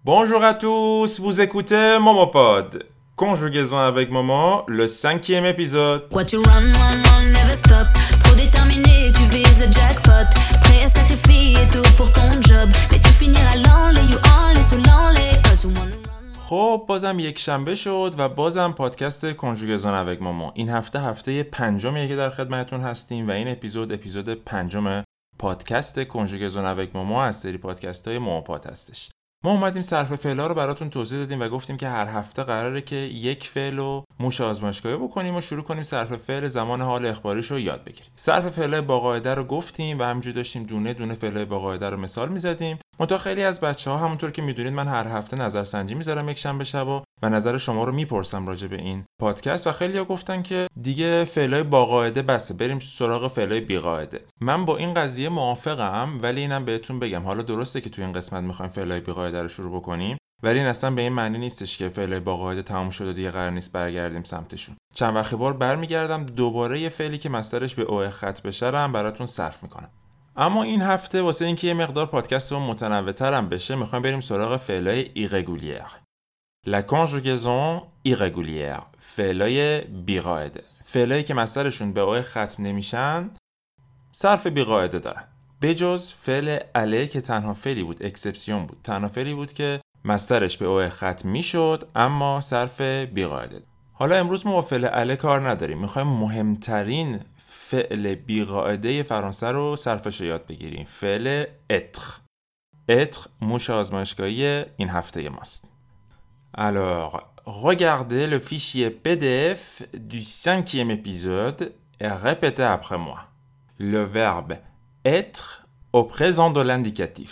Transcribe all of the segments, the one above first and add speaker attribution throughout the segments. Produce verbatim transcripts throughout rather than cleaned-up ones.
Speaker 1: Bonjour à tous, vous écoutez Momopod. Conjugaison avec Momo, le cinquième épisode.
Speaker 2: Quoi tu run, run, run, never stop. Trop déterminé, tu vises le jackpot. Prêt à sacrifier tout pour ton job. Mais tu finiras l'enlay, you only, so lonely. Cause you wanna run.
Speaker 1: خب بازم یک شنبه شد و بازم پادکست کنجوگزون avec Momo. این هفته هفته پنجمیه که در خدمتتون هستیم و این اپیزود اپیزود پنجم پادکست کنجوگزون avec Momo از سری پادکست های موموپاد هستش. ما اومدیم صرف فعلا رو براتون توضیح دادیم و گفتیم که هر هفته قراره که یک فعل رو موش آزمایشگاهی بکنیم و شروع کنیم صرف فعل زمان حال اخباریش رو یاد بگیریم. صرف فعل‌های با قاعده رو گفتیم و همینجوری داشتیم دونه دونه فعل‌های با قاعده رو مثال می‌زدیم. منتها خیلی از بچه‌ها همونطور که می‌دونید من هر هفته نظرسنجی می‌ذارم یک شنبه شبا و نظر شما رو میپرسم راجع به این پادکست و خیلی‌ها گفتن که دیگه فعل‌های با قاعده بسه، بریم سراغ فعل‌های بی قاعده. من با این قضیه موافقم، ولی اینم بهتون بگم حالا درسته که توی این قسمت می‌خوایم فعل‌های بی قاعده رو شروع بکنیم، ولی این اصلا به این معنی نیستش که فعل‌های با قاعده تموم شده دیگه قرار نیست برگردیم سمتشون. چند وقت بار برمیگردم دوباره یه فعلی که مصدرش به او خط بشه رو هم براتون صرف می‌کنم. اما این هفته واسه اینکه یه مقدار پادکستمون متنوع‌تر هم بشه می‌خوایم بریم سراغ فعل‌های irrégulière. La conjugaison irrégulière. فعل‌های بی‌قاعده. فعلایی که مصدرشون به او ختم نمیشن صرف بی‌قاعده دارن. بجز فعل اله که تنها فعلی بود، اکسپسیون بود. تنها فعلی بود که مصدرش به او ختم میشد اما صرف بی‌قاعده. حالا امروز ما با فعل اله کار نداریم. می‌خوایم مهمترین فعل بی‌قاعده فرانسه رو صرفش رو یاد بگیریم. فعل être. être موش آزمایشگاهی این هفته ماست. Alors, regardez le fichier P D F du cinquième épisode et répétez après moi. Le verbe être au présent de l'indicatif.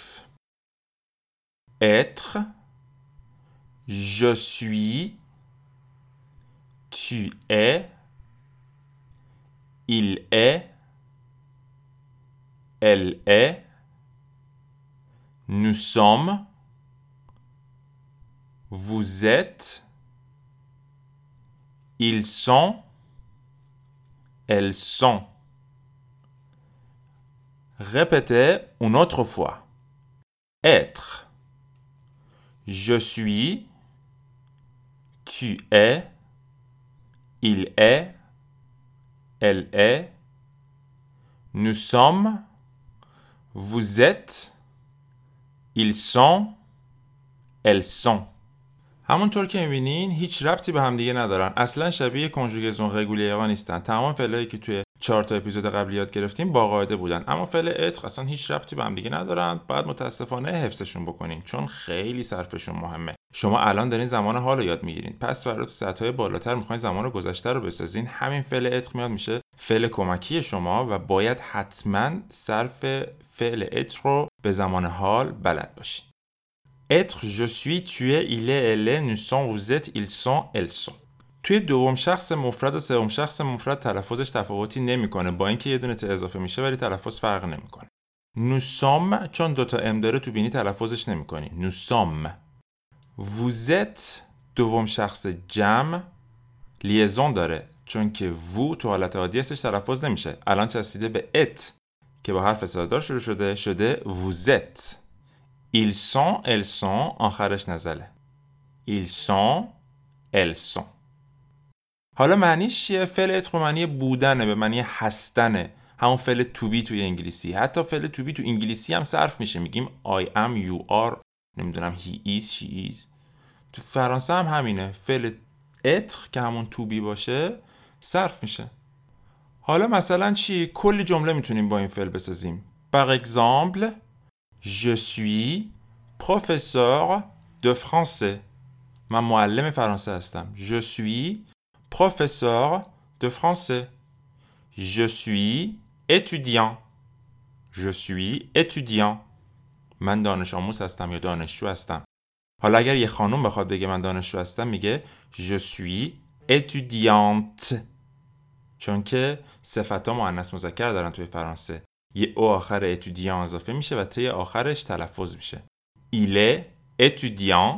Speaker 1: Être, je suis, tu es, il est, elle est, nous sommes, vous êtes, ils sont, elles sont. Répétez une autre fois. Être. Je suis, tu es, il est, elle est, nous sommes, vous êtes, ils sont, elles sont. همونطور که می‌بینین هیچ ربطی به هم دیگه ندارن. اصلا شبیه کنجوگزون رگولیرها نیستن. تمام فعلایی که توی چهار تا اپیزود قبلی یاد گرفتیم با قاعده بودن. اما فعل اتر اصلا هیچ ربطی به هم دیگه ندارن. باید متاسفانه حفظشون بکنین چون خیلی صرفشون مهمه. شما الان دارین زمان حال رو یاد میگیرین. پس برای تو سطح‌های بالاتر می‌خواین زمان گذشته رو بسازین. همین فعل اتر میاد میشه فعل کمکی شما و باید حتما صرف فعل اتر رو به زمان حال بلد باشین. être, je suis, tu es, il est, elle est, nous sommes, vous êtes, ils sont, elles sont. توی دوم شخص مفرد و سوم شخص مفرد تلفظش تفاوتی نمیکنه، با اینکه یه دونه ت اضافه میشه ولی تلفظ فرق نمیکنه. nous sommes چون دوتا ام داره تو بینی تلفظش نمیکنی. nous sommes. vous êtes دوم شخص جمع لیزون داره چون که vous تو حالت عادی هستش تلفظ نمیشه. الان چسبیده به ات که با حرف صدادار شروع شده شده vous êtes. ils sont, elles sont آخرش نزله. ils sont, elles sont. حالا معنیش چیه؟ فعل اتر به معنی بودنه، به معنی هستنه. همون فعل to be توی انگلیسی. حتی فعل to be تو انگلیسی هم صرف میشه. میگیم I am, you are، نمیدونم he is, she is. تو فرانسه هم همینه. فعل اتر که همون to be باشه صرف میشه. حالا مثلا چی؟ کلی جمله میتونیم با این فعل بسازیم. par exemple Je suis professeur de français. من معلم فرانسه هستم. Je suis professeur de français. Je suis étudiant. Je suis étudiant. من دانش آموز هستم یا دانشجو هستم. حالا اگر یه خانم بخواد بگه من دانشجو هستم میگه Je suis étudiante. چون که صفت‌ها مؤنث مذکر دارن توی فرانسه. یه او آخر اتودیان اضافه میشه و تی آخرش تلفظ میشه. il est étudiant.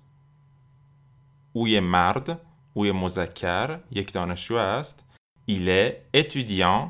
Speaker 1: او یه مرد، او یه مذکر، یک دانشجو است. il est étudiant.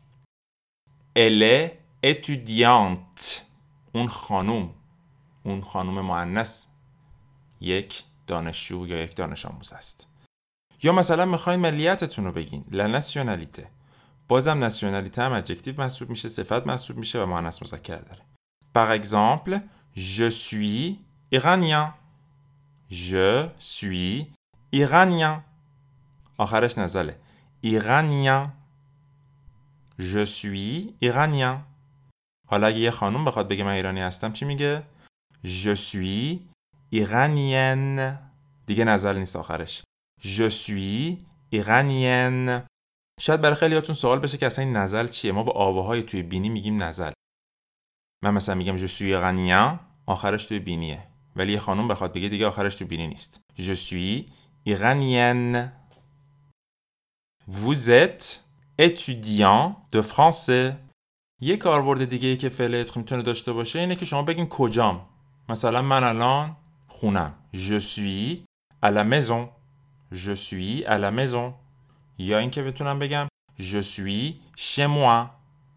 Speaker 1: elle est étudiante. اون خانوم، اون خانوم مؤنث یک دانشجو یا یک دانش آموز است. یا مثلا میخواین ملیتتون رو بگین، لا ناسیونالیته. بازم ناسیونالیته هم ادجکتیو محسوب میشه، صفت محسوب میشه و مؤنث مذکر داره. Par exemple, je suis iranien. Je suis iranien. آخرش نزله. iranien. Je suis iranien. حالا اگه یه خانوم بخواد بگه من ایرانی هستم چی میگه؟ Je suis iranienne. دیگه نزل نیست آخرش. Je suis iranienne. شاید برای خیلیاتون سوال بشه که اصلا این نزل چیه؟ ما با آواهای توی بینی میگیم نزل. من مثلا میگم je suis iranien، آخرش توی بینیه. ولی یه خانوم بخواد بگه دیگه آخرش توی بینی نیست. Je suis iranienne. Vous êtes étudiant de français. یه کاربرد دیگه ای که فعل اتر میتونه داشته باشه اینه که شما بگین کجام. مثلا من الان خونم. Je suis à la maison. Je suis à la maison. یا اینکه بتونم بگم Je suis chez moi.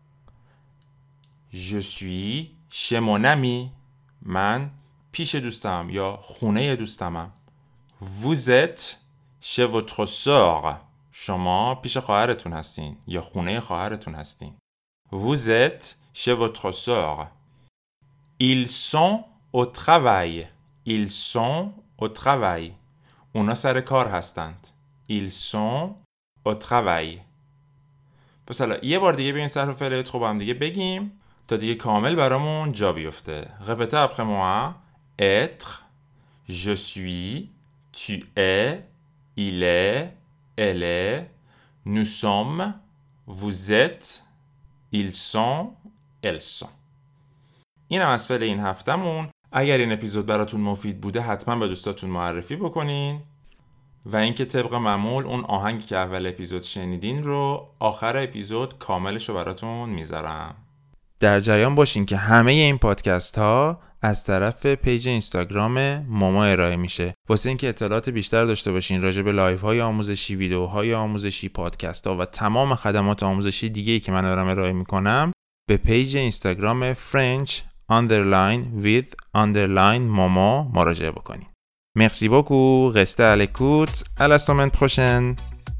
Speaker 1: Je suis chez mon ami. من پیش دوستم یا خونه دوستمم. Vous êtes chez votre sœur. شما پیش خواهرتون هستین یا خونه خواهرتون هستین. Vous êtes chez votre sœur. Ils sont au travail. Ils sont au travail. اونا سر کار هستند. Ils sont au travail. پس حالا یه بار دیگه به این صرف فعل اتر با هم دیگه بگیم تا دیگه کامل برامون جا بیفته. Répétez après moi. Être, je suis, tu es, il est, elle est, nous sommes, vous êtes, ils sont, elles sont. این هم از فعل این هفتمون. اگر این اپیزود براتون مفید بوده حتما به دوستاتون معرفی بکنین و اینکه طبق معمول اون آهنگی که اول اپیزود شنیدین رو آخر اپیزود کاملش رو براتون میذارم. در جریان باشین که همه این پادکست ها از طرف پیج اینستاگرام موما ارائه میشه. واسه اینکه اطلاعات بیشتر داشته باشین راجع به لایو های آموزشی، ویدیوهای آموزشی، پادکست ها و تمام خدمات آموزشی دیگه‌ای که من دارم ارائه میکنم به پیج اینستاگرام French underline with underline موما مراجعه بکنین. Merci beaucoup, restez à l'écoute, à la semaine prochaine.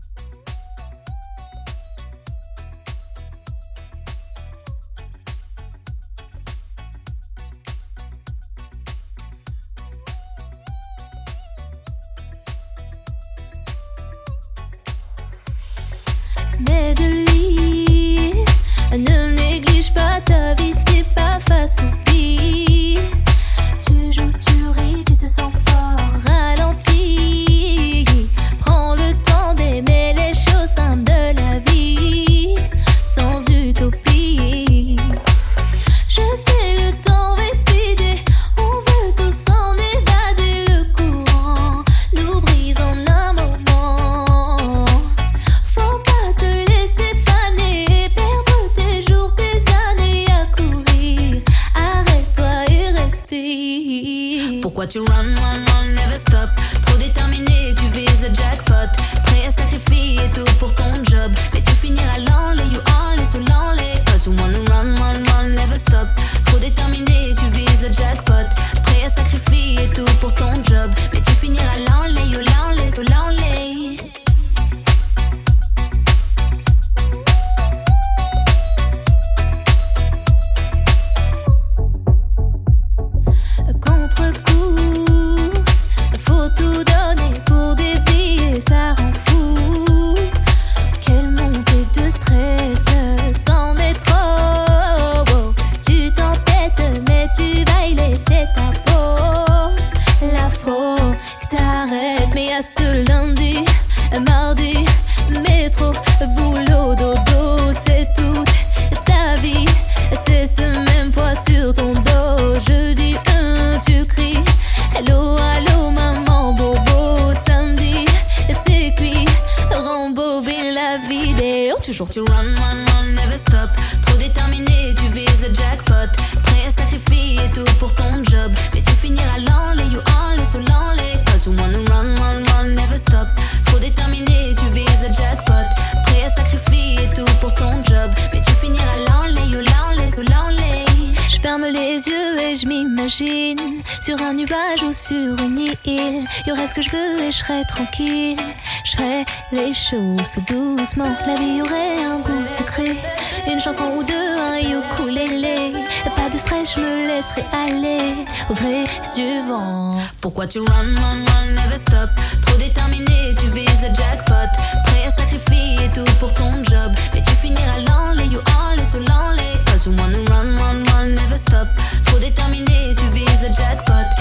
Speaker 2: Mais de lui, ne néglige pas ta vie, c'est pas face au pire. Tu joues, tu ris, tu te sens fort, ralenti. Prends le temps d'aimer les choses simples de la vie, sans utopie. Je sais le temps va speeder, on veut tous en évader. Le courant nous brise en un moment. Faut pas te laisser faner, perdre tes jours, tes années à courir. Arrête-toi et respire. Pourquoi tu run, run, run, never stop? Trop déterminé, tu vises le jackpot. Prêt à sacrifier tout pour ton job, mais tu finiras l'enlay, you enlay, sous l'enlay. Cause you wanna run, run, run, never stop. Trop déterminé, tu vises le jackpot. Prêt à sacrifier tout pour ton job, mais tu finiras l'enlay, you l'enlay, sous l'enlay. Contre-coup, faut tout donner pour des billets, ça rend fou. Quelle montée de stress, c'en est trop. Oh, tu t'entêtes, mais tu vas y laisser ta peau. La faut que t'arrêtes, mais à ce lundi, mardi, métro, boulot, dodo, c'est toute ta vie. C'est ce même poids sur ton dos. Jeudi un, tu cries hello, allô, maman, bobo. Samedi, c'est cuit, rembobine la vidéo. Toujours tu run, run, run, never stop. Trop déterminé, tu vises le jackpot. Prêt à sacrifier tout pour ton job, mais tu finiras l'enlay, you enlay, sous l'enlay. Cause you wanna run, run, run, never stop. Trop déterminé, tu vises le jackpot. Prêt à sacrifier tout pour ton job, mais tu finiras l'enlay, you l'enlay, sous l'enlay. Je ferme les yeux et je m'imagine sur un nuage ou sur une île. Y'aurait ce que je veux et je serais tranquille. Je ferais les choses tout doucement. La vie aurait un goût sucré. Une chanson ou deux, un ukulélé. Pas de stress, je me laisserai aller au gré du vent.
Speaker 3: Pourquoi tu run, run, run, never stop? Trop déterminé, tu vises le jackpot. Prêt à sacrifier tout pour ton job. Mais tu finiras l'enlay, you only so lonely. Cause you wanna run, run, run, never stop. Trop déterminé, tu vises le jackpot.